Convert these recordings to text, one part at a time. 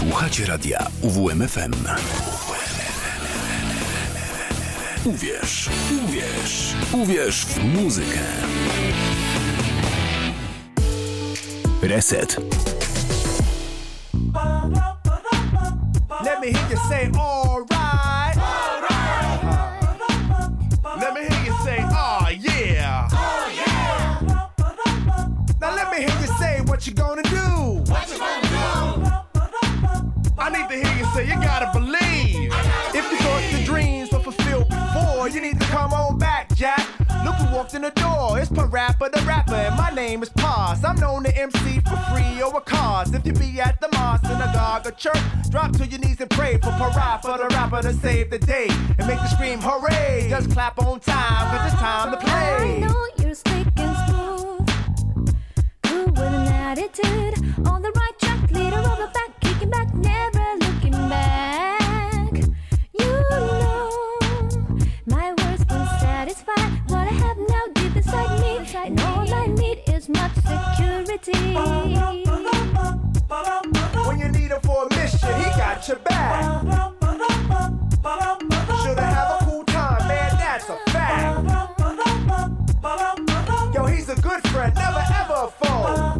Słuchacie radia UWMFM. Uwierz, uwierz, uwierz w muzykę. Reset. Let me hear you say alright. Let me hear you say oh yeah. Now let me hear you say what you gonna do. I need to hear you say you gotta believe. If you thought your dreams were fulfilled before, you need to come on back, Jack. Look who walked in the door, it's Parappa the Rapper, and my name is Paz. I'm known to MC for free or a cause. If you be at the mosque, synagogue, or church, drop to your knees and pray for Parappa the Rapper to save the day and make you scream hooray. Just clap on time, cause it's time to play. I know you're slick and smooth, cool with an attitude, on the right track, leader of the back, kicking back, never looking back. You know my words won't satisfy what I have now deep inside me, and all I need is much security. When you need him for a mission, he got your back. Shoulda have a cool time, man, that's a fact. Yo, he's a good friend, never ever a foe.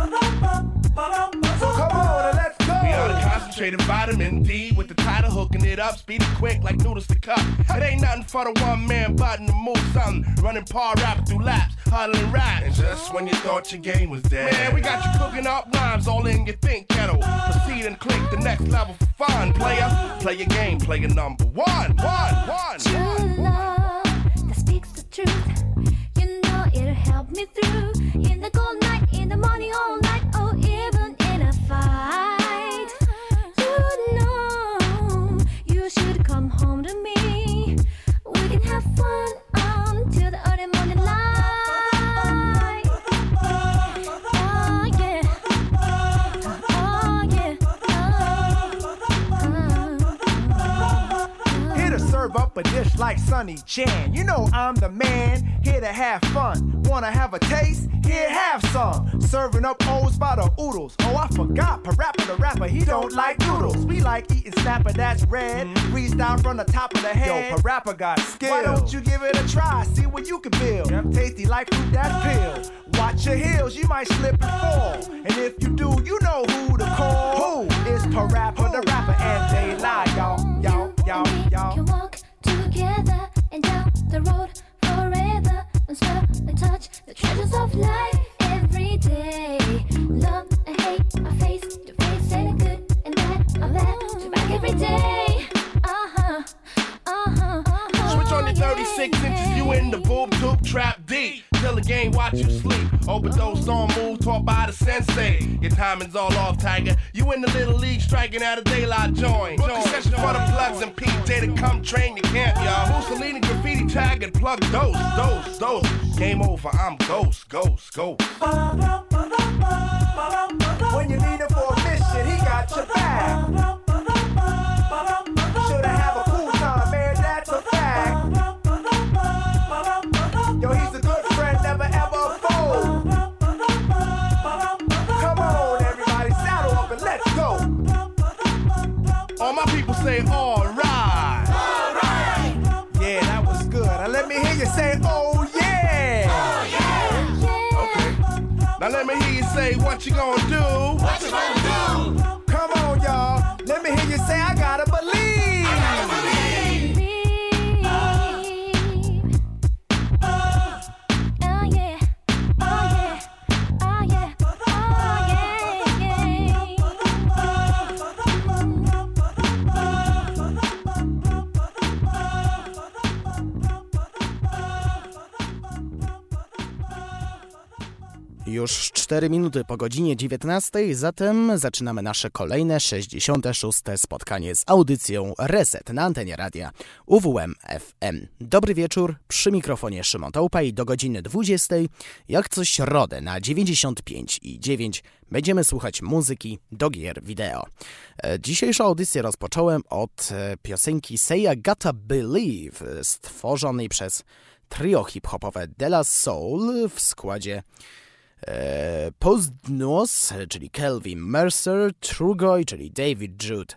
So come on and let's go. We on a concentrated vitamin D with the title hooking it up, speedy quick like noodles to cup. It ain't nothing for the one man button to move something, running par rapping through laps, huddling rap. And just when you thought your game was dead, man, we got you cooking up rhymes all in your think kettle. Proceed and click the next level for fun, player. Play your game, player number one. True love that speaks the truth. You know it'll help me through in the cold night, in the morning, all night, or even in a fight. You know you should come home to me. We can have fun until the early morning light. Oh yeah, oh yeah, Here to serve up a dish like Sonny Chan. You know I'm the man, here to have fun. Wanna have a taste? Here, have some. Serving up O's by the oodles. Oh, I forgot, Parappa the Rapper, he don't like noodles. We like eating snapper that's red. Freestyle from the top of the head. Yo, Parappa got skill. Why don't you give it a try, see what you can build. Tasty like fruit that's peeled. Watch your heels, you might slip and fall. And if you do, you know who to call. Who is Parappa the Rapper, and they lie, y'all. Can walk together and down the road forever and smell and touch the treasures of life every day. Love and hate, I face to face, and good and bad, I laugh to back every day. Switch on your 36 inches, you in the boob tube trap deep. Till the game watch you sleep. Overdose on move taught by the sensei. Your timing's all off, Tiger. You in the little league striking out a daylight joint. Book a session for the plugs and PJ to come train your camp, y'all. Mussolini graffiti tag and plug dose. Game over, I'm ghost. When you need him for a mission, he got your back. Shoulda have a cool time, man, that's a fact. Yo, he's a good friend, never ever a foe. Come on, everybody, saddle up and let's go. All my people say alright. Yeah, that was good. Now let me hear you say, oh yeah. Okay. Now let me hear you say what you gonna do. Come on, y'all. Let me hear you say, I gotta believe. Już 4 minuty po godzinie 19, zatem zaczynamy nasze kolejne 66. spotkanie z audycją Reset na antenie radia UWM FM. Dobry wieczór, przy mikrofonie Szymon Tołpa i do godziny 20, jak co środę na 95,9 będziemy słuchać muzyki do gier wideo. Dzisiejszą audycję rozpocząłem od piosenki Say I Gotta Believe, stworzonej przez trio hip-hopowe De La Soul w składzie Postnuos, czyli Kelvin Mercer, Trugoy, czyli David Jude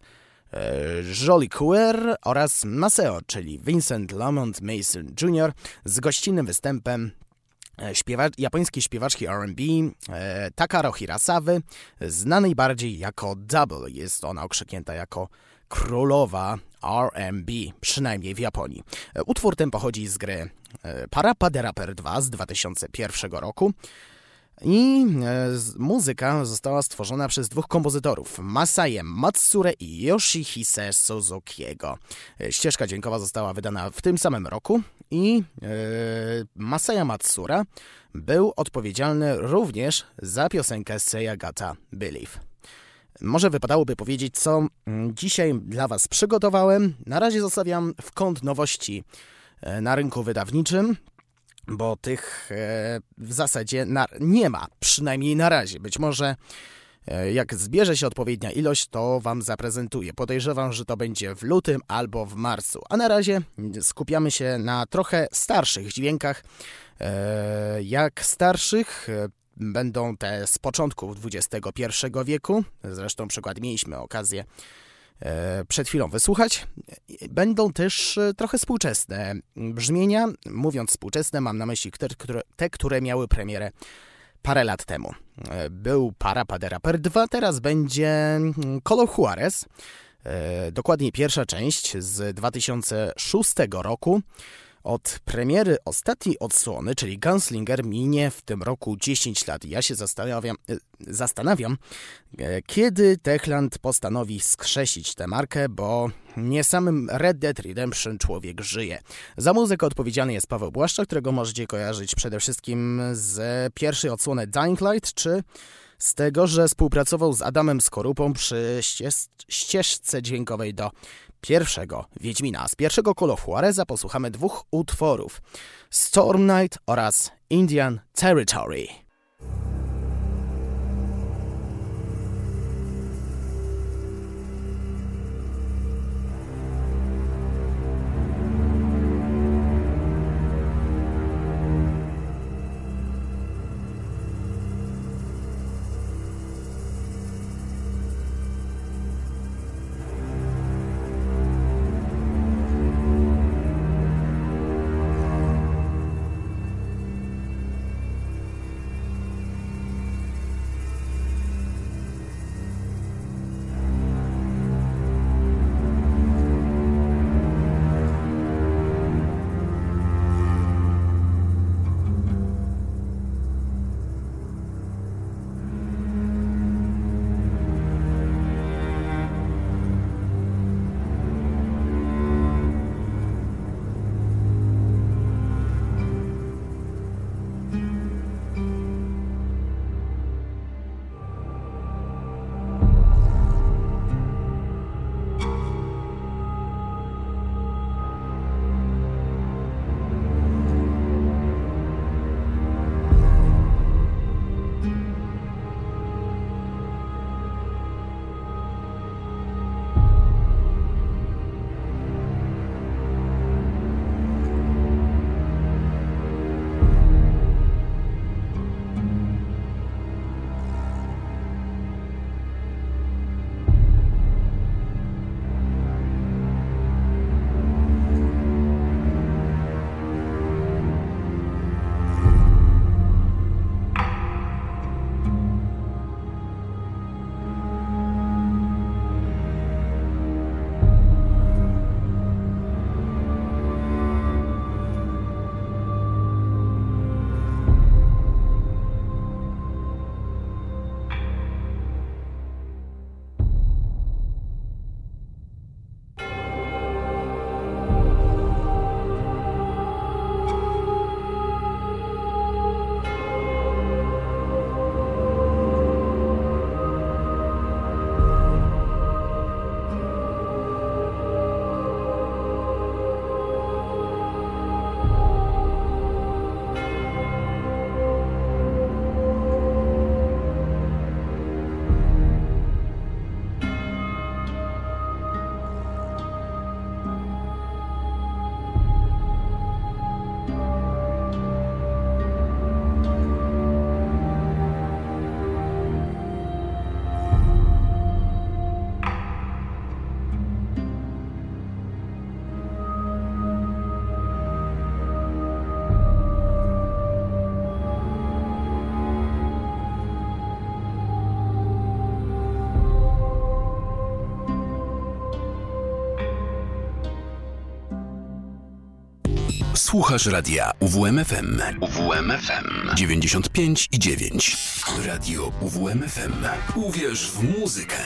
Jolicoeur oraz Maceo, czyli Vincent Lamont Mason Jr. z gościnnym występem japońskiej śpiewaczki R&B Takaro Hirasawy, znanej bardziej jako Double. Jest ona okrzyknięta jako królowa R&B, przynajmniej w Japonii. Utwór ten pochodzi z gry Parappa the Rapper 2 z 2001 roku. I muzyka została stworzona przez dwóch kompozytorów, Masaie Matsure i Yoshihise Suzukiego. Ścieżka dźwiękowa została wydana w tym samym roku i Masaya Matsura był odpowiedzialny również za piosenkę Seyagata Believe. Może wypadałoby powiedzieć, co dzisiaj dla Was przygotowałem. Na razie zostawiam w kąt nowości na rynku wydawniczym, bo tych w zasadzie nie ma, przynajmniej na razie. Być może jak zbierze się odpowiednia ilość, to Wam zaprezentuję. Podejrzewam, że to będzie w lutym albo w marcu. A na razie skupiamy się na trochę starszych dźwiękach. Jak starszych będą te z początków XXI wieku. Zresztą przykład mieliśmy okazję przed chwilą wysłuchać. Będą też trochę współczesne brzmienia. Mówiąc współczesne, mam na myśli te, które miały premierę parę lat temu. Był Parappa the Rapper 2, teraz będzie Color Juarez. Dokładniej pierwsza część z 2006 roku. Od premiery ostatniej odsłony, czyli Gunslinger, minie w tym roku 10 lat. Ja się zastanawiam, kiedy Techland postanowi skrzesić tę markę, bo nie samym Red Dead Redemption człowiek żyje. Za muzykę odpowiedzialny jest Paweł Błaszczak, którego możecie kojarzyć przede wszystkim z pierwszej odsłony Dying Light, czy z tego, że współpracował z Adamem Skorupą przy ścieżce dźwiękowej do pierwszego Wiedźmina. Z pierwszego Call of Juareza posłuchamy dwóch utworów: Storm Knight oraz Indian Territory. Słuchasz radia UWMFM. UWMFM 95,9. Radio UWMFM. Uwierz w muzykę.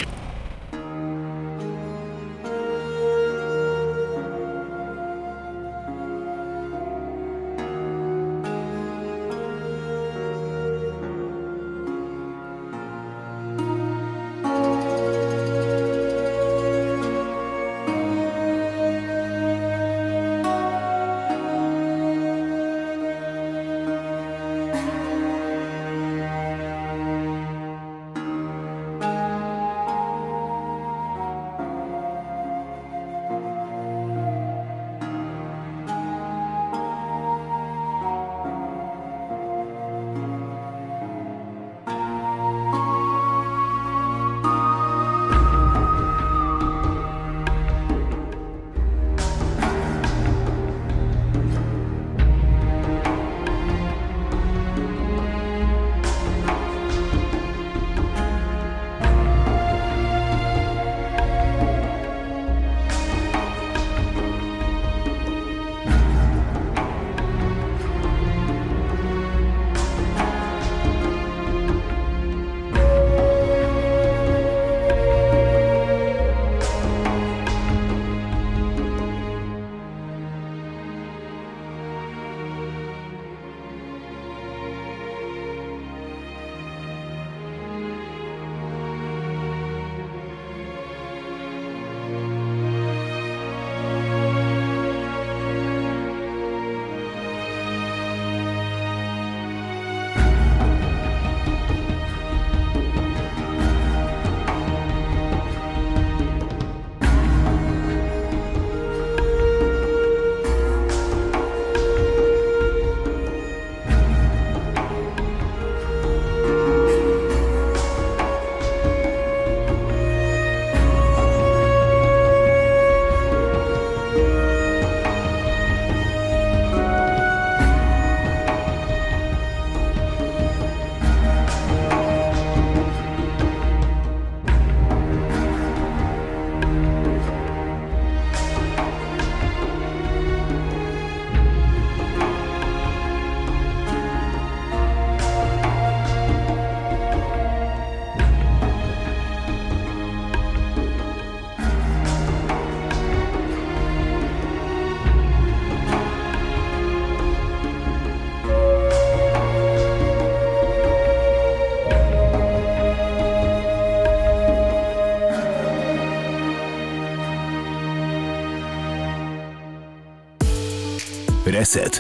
Reset.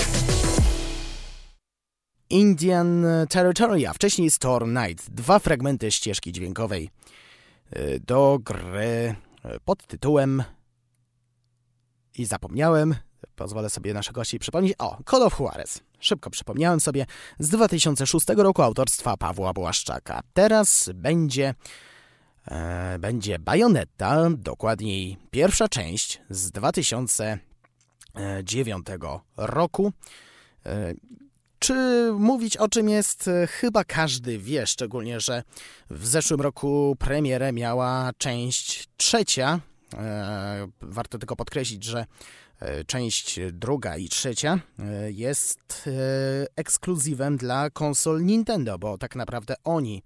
Indian Territory, a wcześniej Storm Night. 2 fragmenty ścieżki dźwiękowej do gry pod tytułem i zapomniałem, pozwolę sobie nasze gości przypomnieć. Call of Juarez. Szybko przypomniałem sobie, z 2006 roku autorstwa Pawła Błaszczaka. Teraz będzie Bayonetta, dokładniej pierwsza część z 2009 roku. Czy mówić o czym jest? Chyba każdy wie, szczególnie, że w zeszłym roku premierę miała część trzecia. Warto tylko podkreślić, że część druga i trzecia jest ekskluzywem dla konsol Nintendo, bo tak naprawdę oni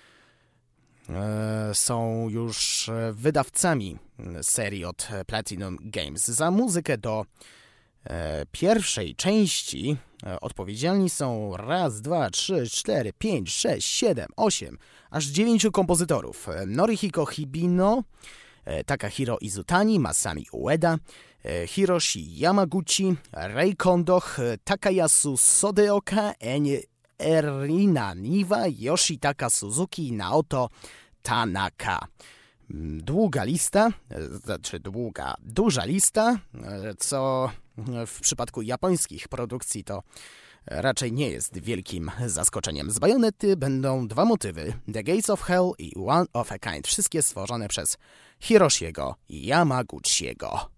są już wydawcami serii od Platinum Games. Za muzykę do pierwszej części odpowiedzialni są 1, 2, 3, 4, 5, 6, 7, 8, aż 9 kompozytorów. Norihiko Hibino, Takahiro Izutani, Masami Ueda, Hiroshi Yamaguchi, Rei Kondo, Takayasu Sodeoka, Erina Niwa, Yoshitaka Suzuki, Naoto Tanaka. Duża lista, co w przypadku japońskich produkcji to raczej nie jest wielkim zaskoczeniem. Z Bayonety będą 2 motywy, The Gates of Hell i One of a Kind, wszystkie stworzone przez Hiroshiego Yamaguchiego.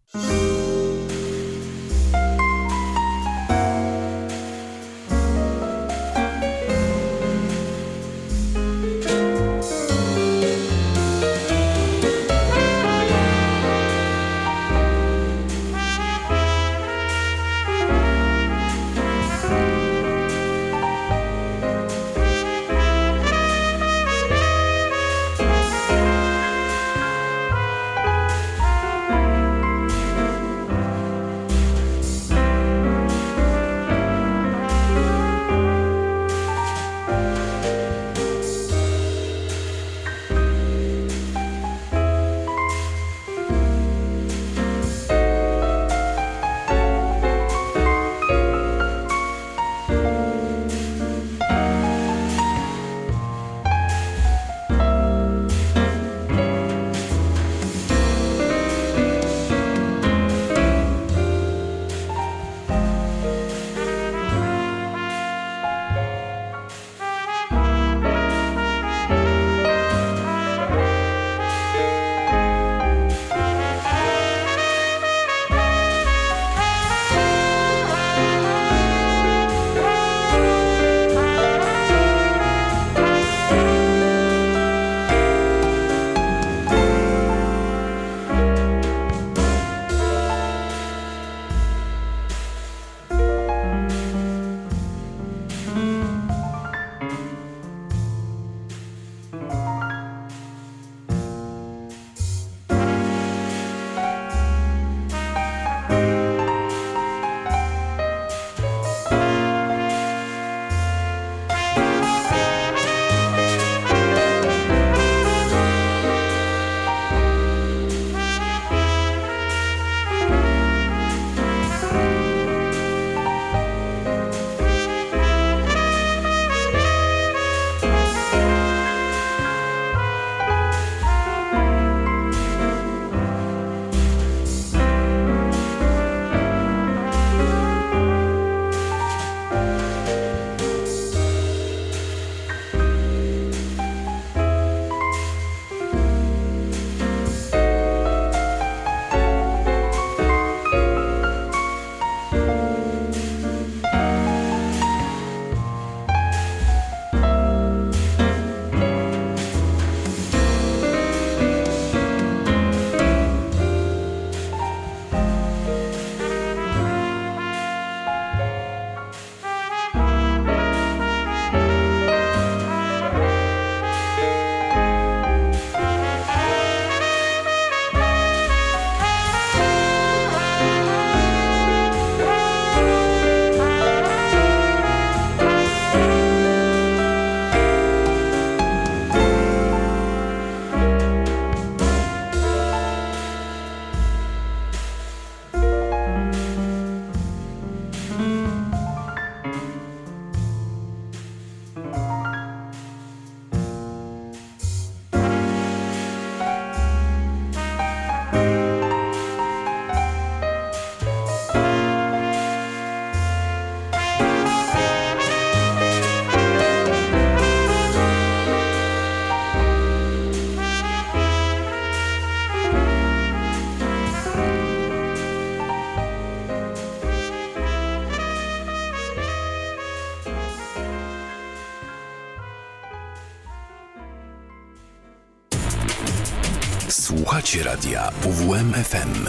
Słuchacie radia UWM-FM.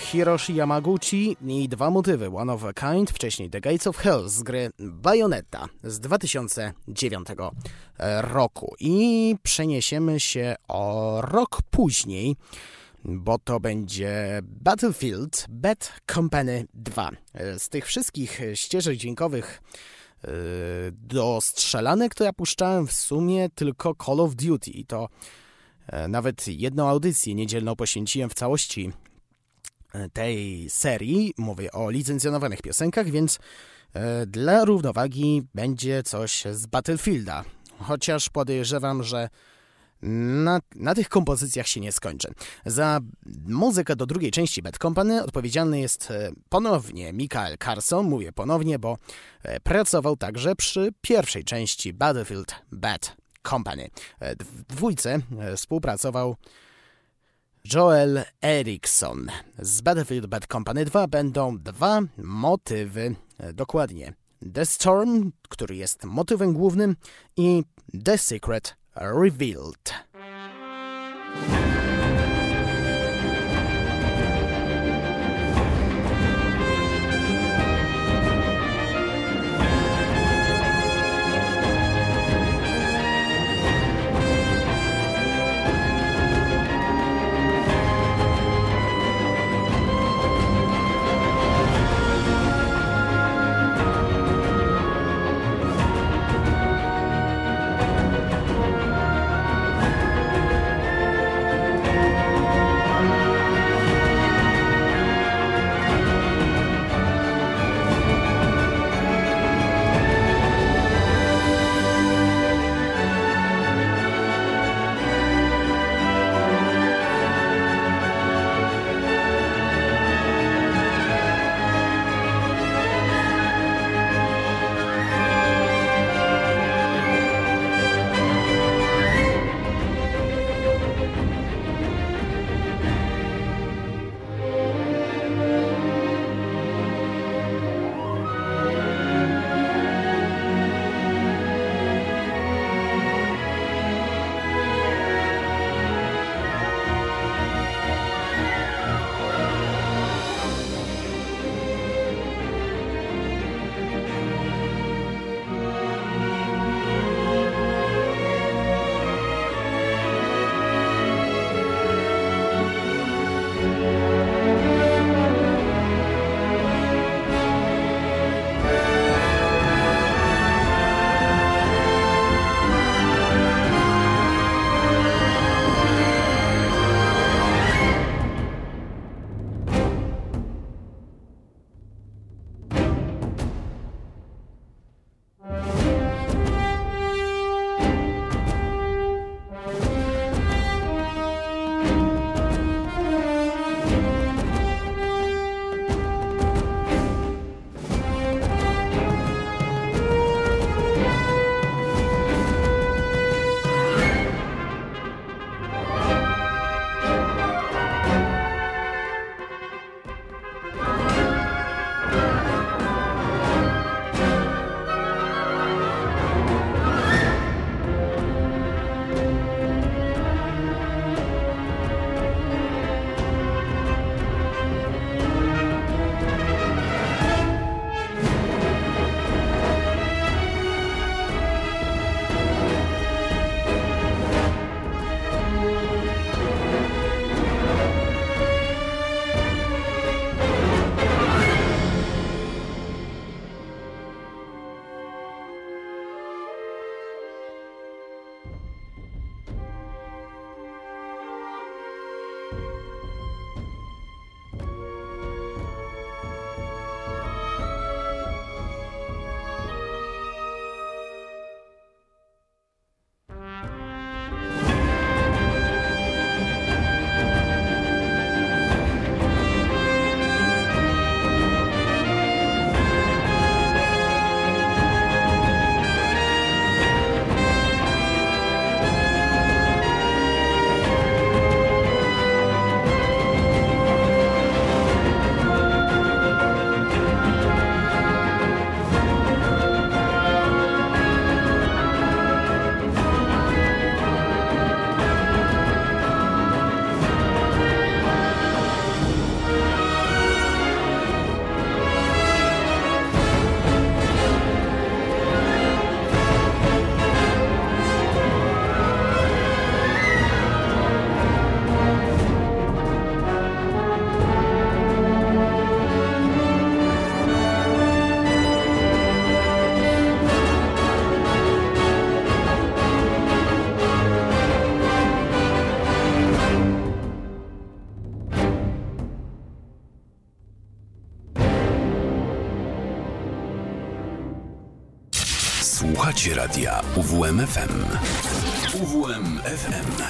Hiroshi Yamaguchi i dwa motywy One of a Kind, wcześniej The Gates of Hell z gry Bayonetta z 2009 roku. I przeniesiemy się o rok później, bo to będzie Battlefield Bad Company 2. Z tych wszystkich ścieżek dźwiękowych do strzelanek to ja puszczałem w sumie tylko Call of Duty i to nawet jedną audycję niedzielną poświęciłem w całości tej serii. Mówię o licencjonowanych piosenkach, więc dla równowagi będzie coś z Battlefielda. Chociaż podejrzewam, że na tych kompozycjach się nie skończę. Za muzykę do drugiej części Bad Company odpowiedzialny jest ponownie Michael Carson. Mówię ponownie, bo pracował także przy pierwszej części Battlefield Bad Company. W dwójce współpracował Joel Eriksson. Z Battlefield Bad Company 2 będą dwa motywy, dokładnie The Storm, który jest motywem głównym, i The Secret Revealed. Słuchacie radia UWMFM. UWMFM.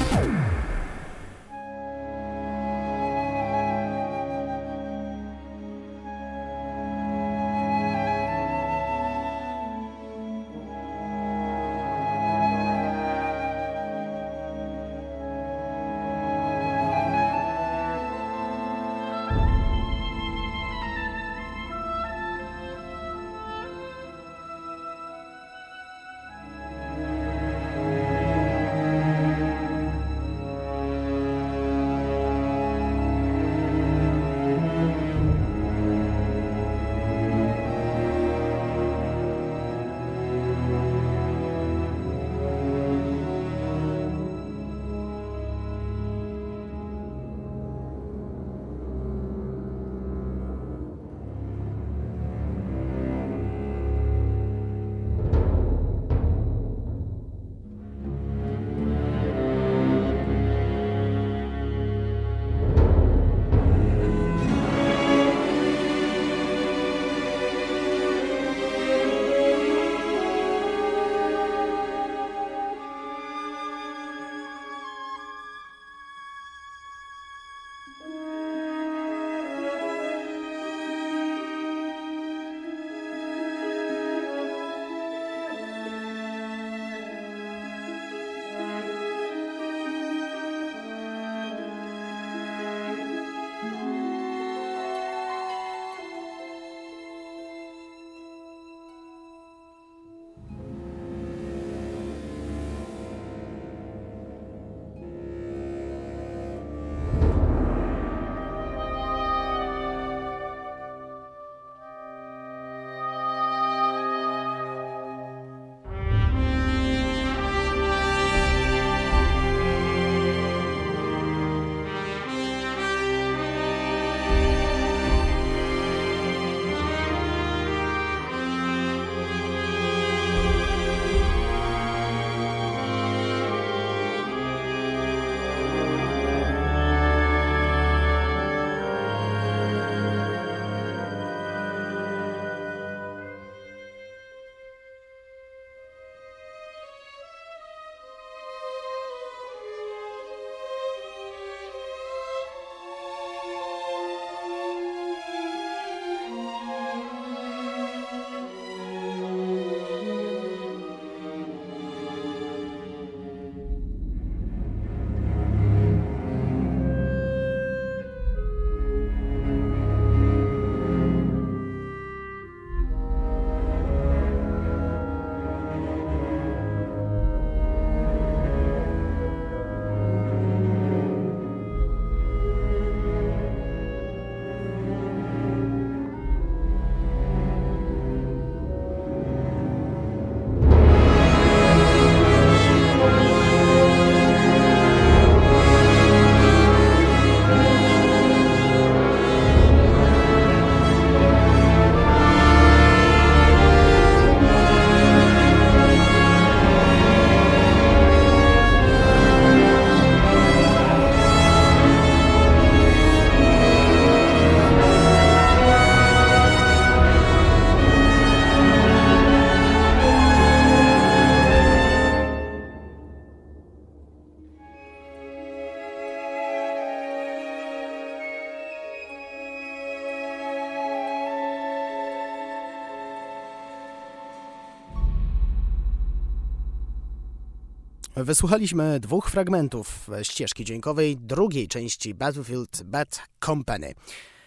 Wysłuchaliśmy dwóch fragmentów ścieżki dźwiękowej drugiej części Battlefield Bad Company.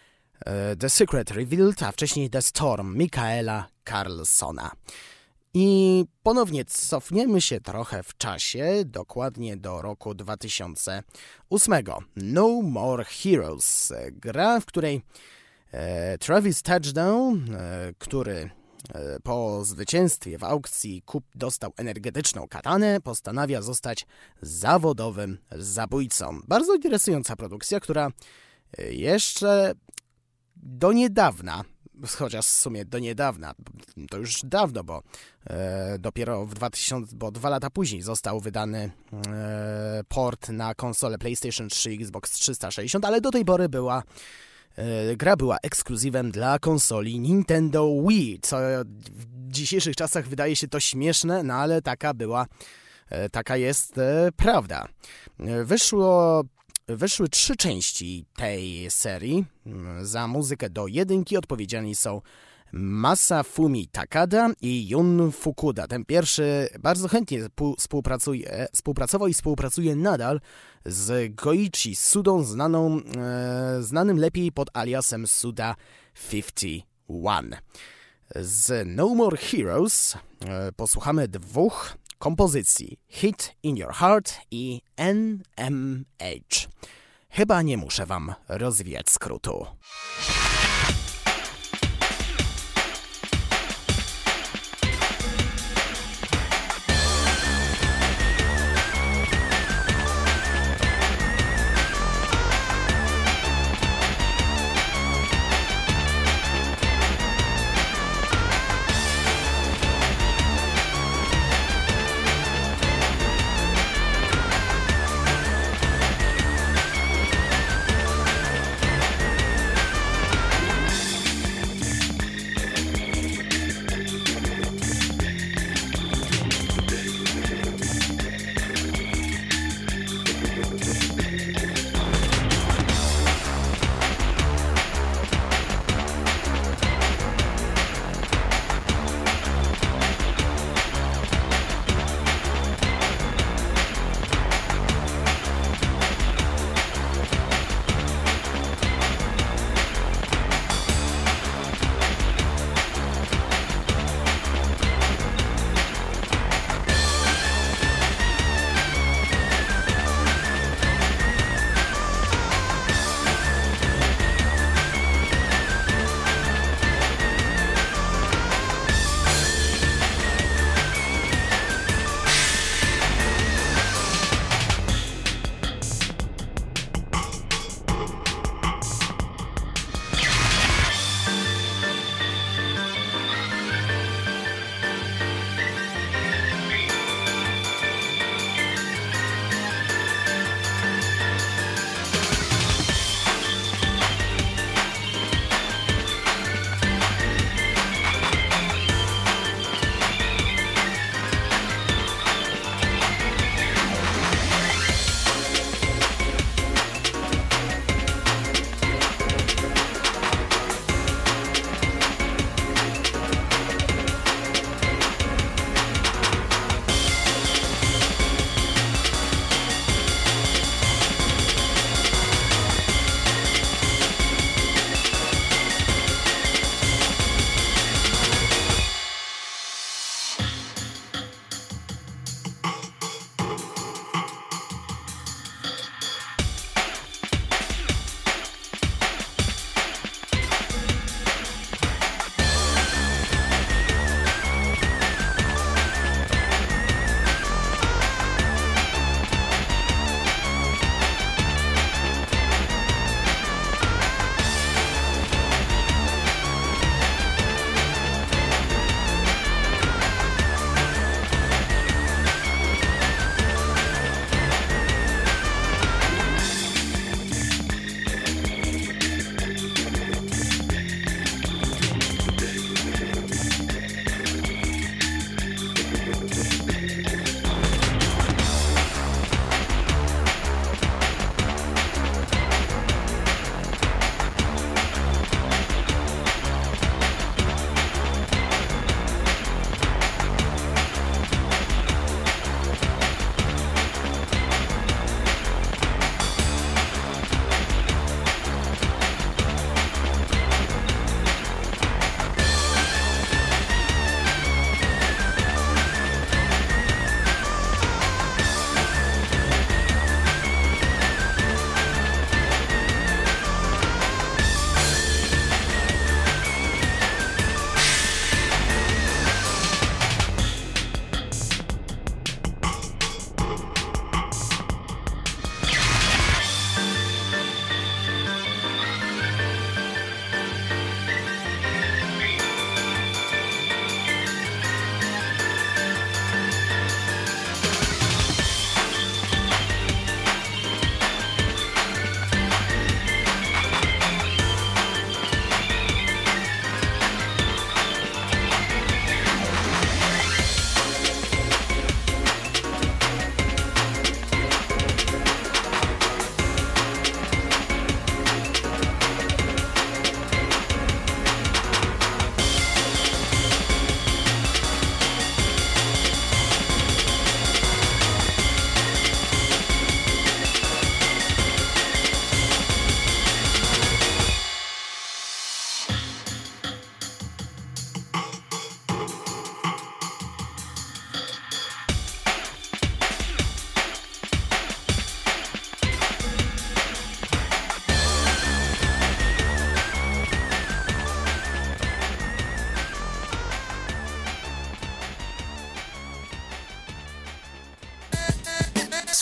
The Secret Revealed, a wcześniej The Storm Michaela Carlsona. I ponownie cofniemy się trochę w czasie, dokładnie do roku 2008. No More Heroes, gra, w której Travis Touchdown, który po zwycięstwie w aukcji dostał energetyczną katanę, postanawia zostać zawodowym zabójcą. Bardzo interesująca produkcja, która jeszcze do niedawna, chociaż w sumie do niedawna, to już dawno, bo dopiero bo 2 lata później został wydany port na konsolę PlayStation 3, Xbox 360, ale do tej pory była Gra była ekskluzywem dla konsoli Nintendo Wii, co w dzisiejszych czasach wydaje się to śmieszne, no ale taka jest prawda. Wyszły 3 części tej serii. Za muzykę do 1 odpowiedzialni są Masafumi Takada i Jun Fukuda. Ten pierwszy bardzo chętnie współpracował i współpracuje nadal z Goichi Sudą, znanym lepiej pod aliasem Suda51. Z No More Heroes posłuchamy 2 kompozycji: Hit in Your Heart i NMH. Chyba nie muszę wam rozwijać skrótu.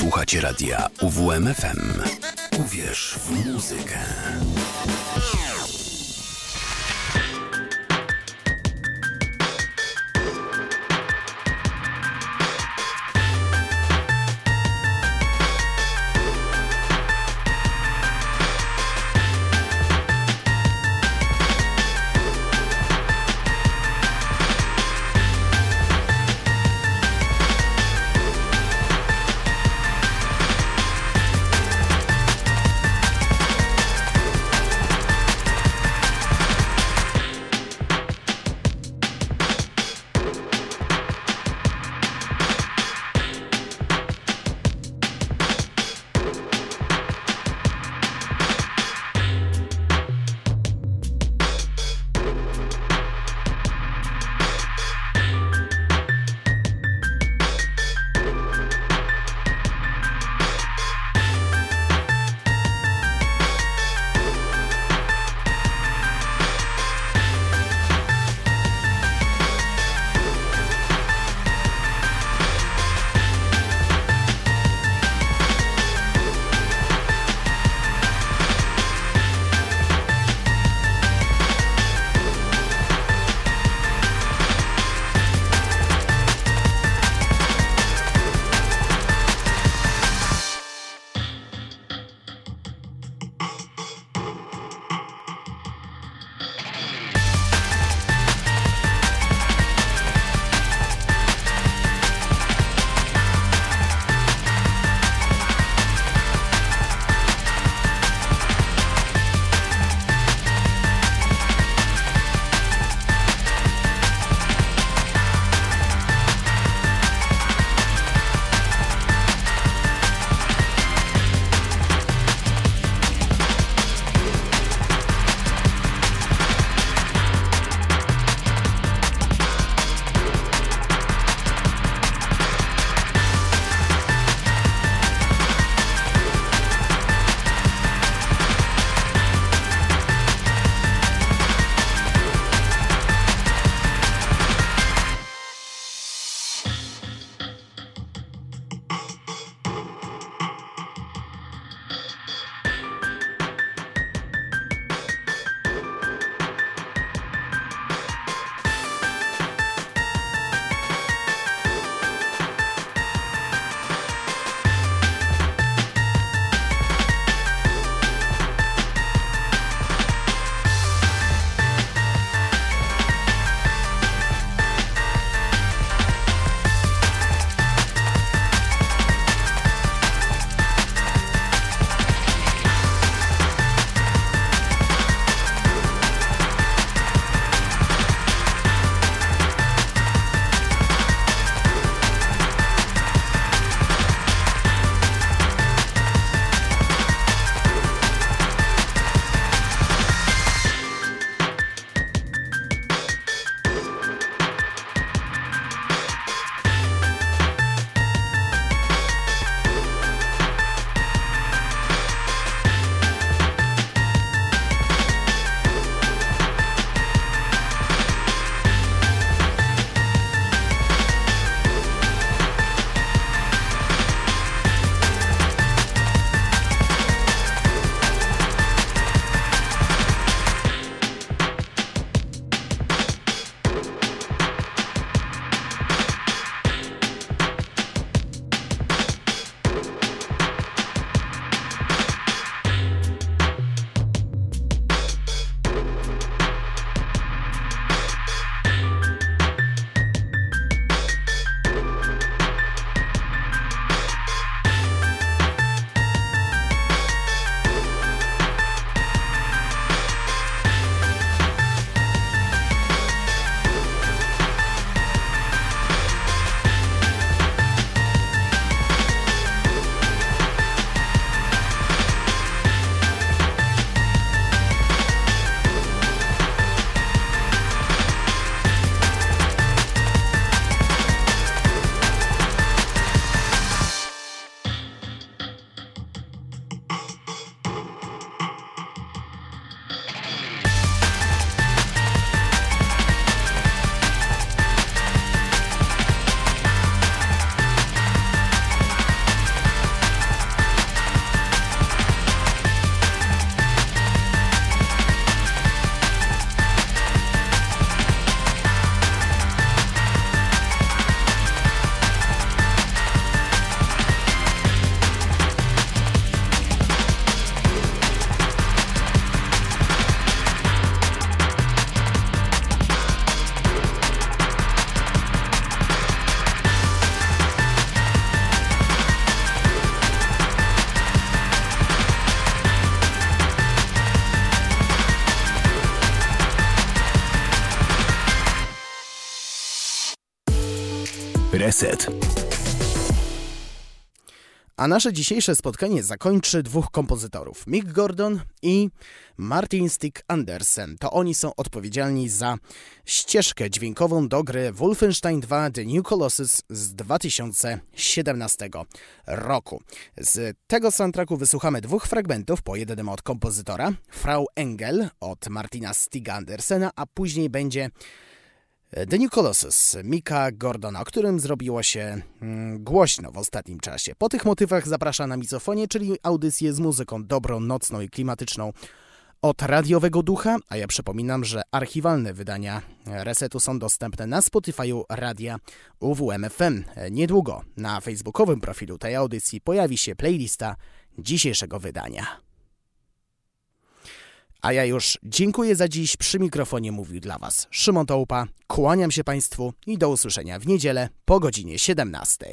Słuchacie radia UWMFM. Uwierz w muzykę. Reset. A nasze dzisiejsze spotkanie zakończy dwóch kompozytorów, Mick Gordon i Martin Stig Andersen. To oni są odpowiedzialni za ścieżkę dźwiękową do gry Wolfenstein 2 The New Colossus z 2017 roku. Z tego soundtracku wysłuchamy dwóch fragmentów, po jednym od kompozytora, Frau Engel od Martina Stiga Andersena, a później będzie The New Colossus Micka Gordona, o którym zrobiło się głośno w ostatnim czasie. Po tych motywach zapraszam na Mizofonie, czyli audycję z muzyką dobrą, nocną i klimatyczną od Radiowego Ducha, a ja przypominam, że archiwalne wydania Resetu są dostępne na Spotify'u Radia UWMFM. Niedługo na facebookowym profilu tej audycji pojawi się playlista dzisiejszego wydania. A ja już dziękuję za dziś. Przy mikrofonie mówił dla Was Szymon Tołpa. Kłaniam się Państwu i do usłyszenia w niedzielę po godzinie 17.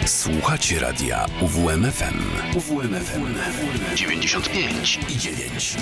Słuchacie radia UWMFM. UWMFM 95,9.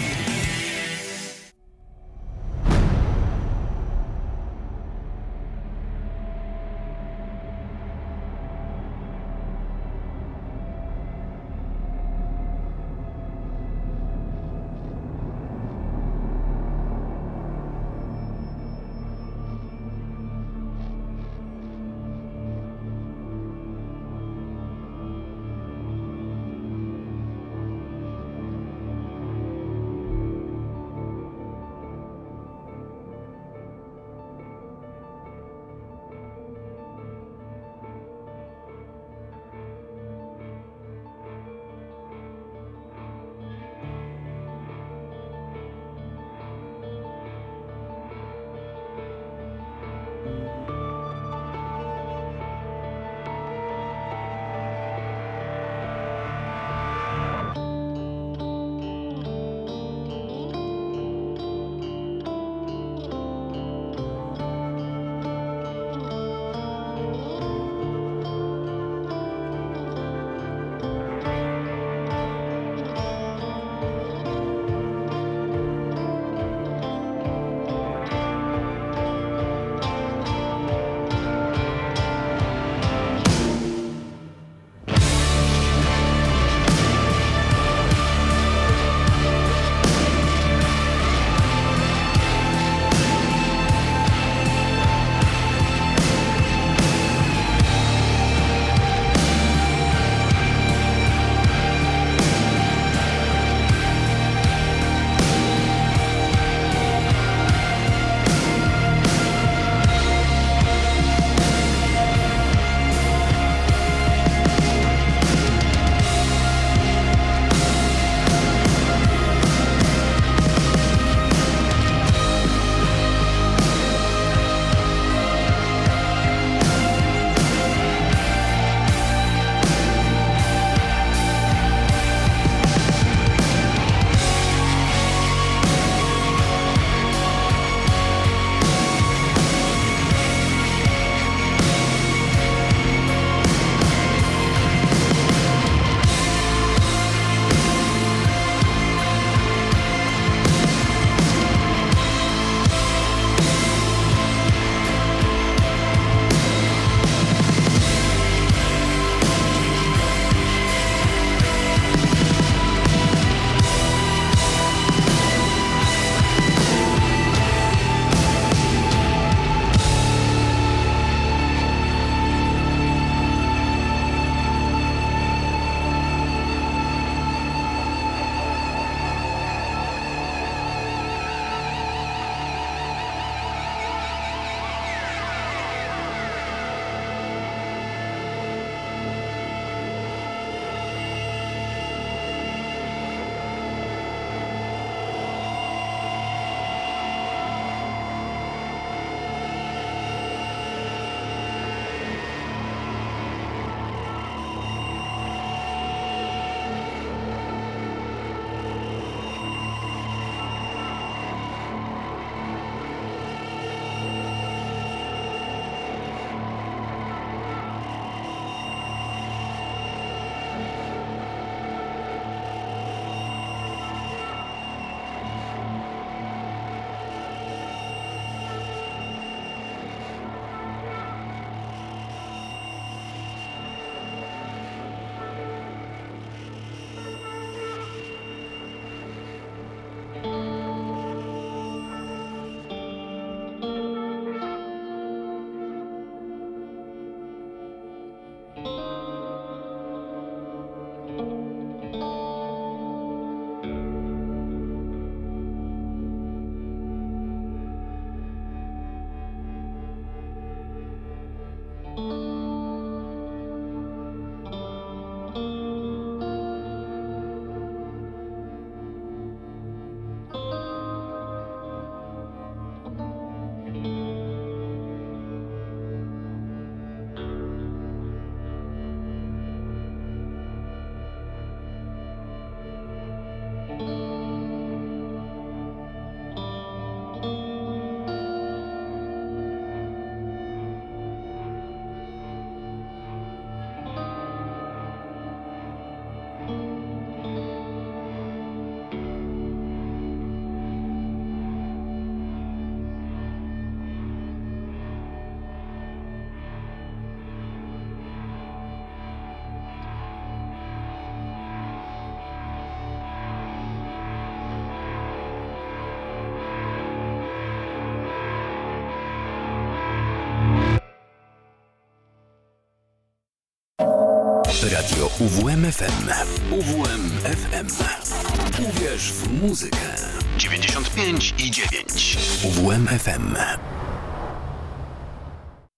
Radio UWM FM. UWM FM. Uwierz w muzykę. 95,9. UWM FM.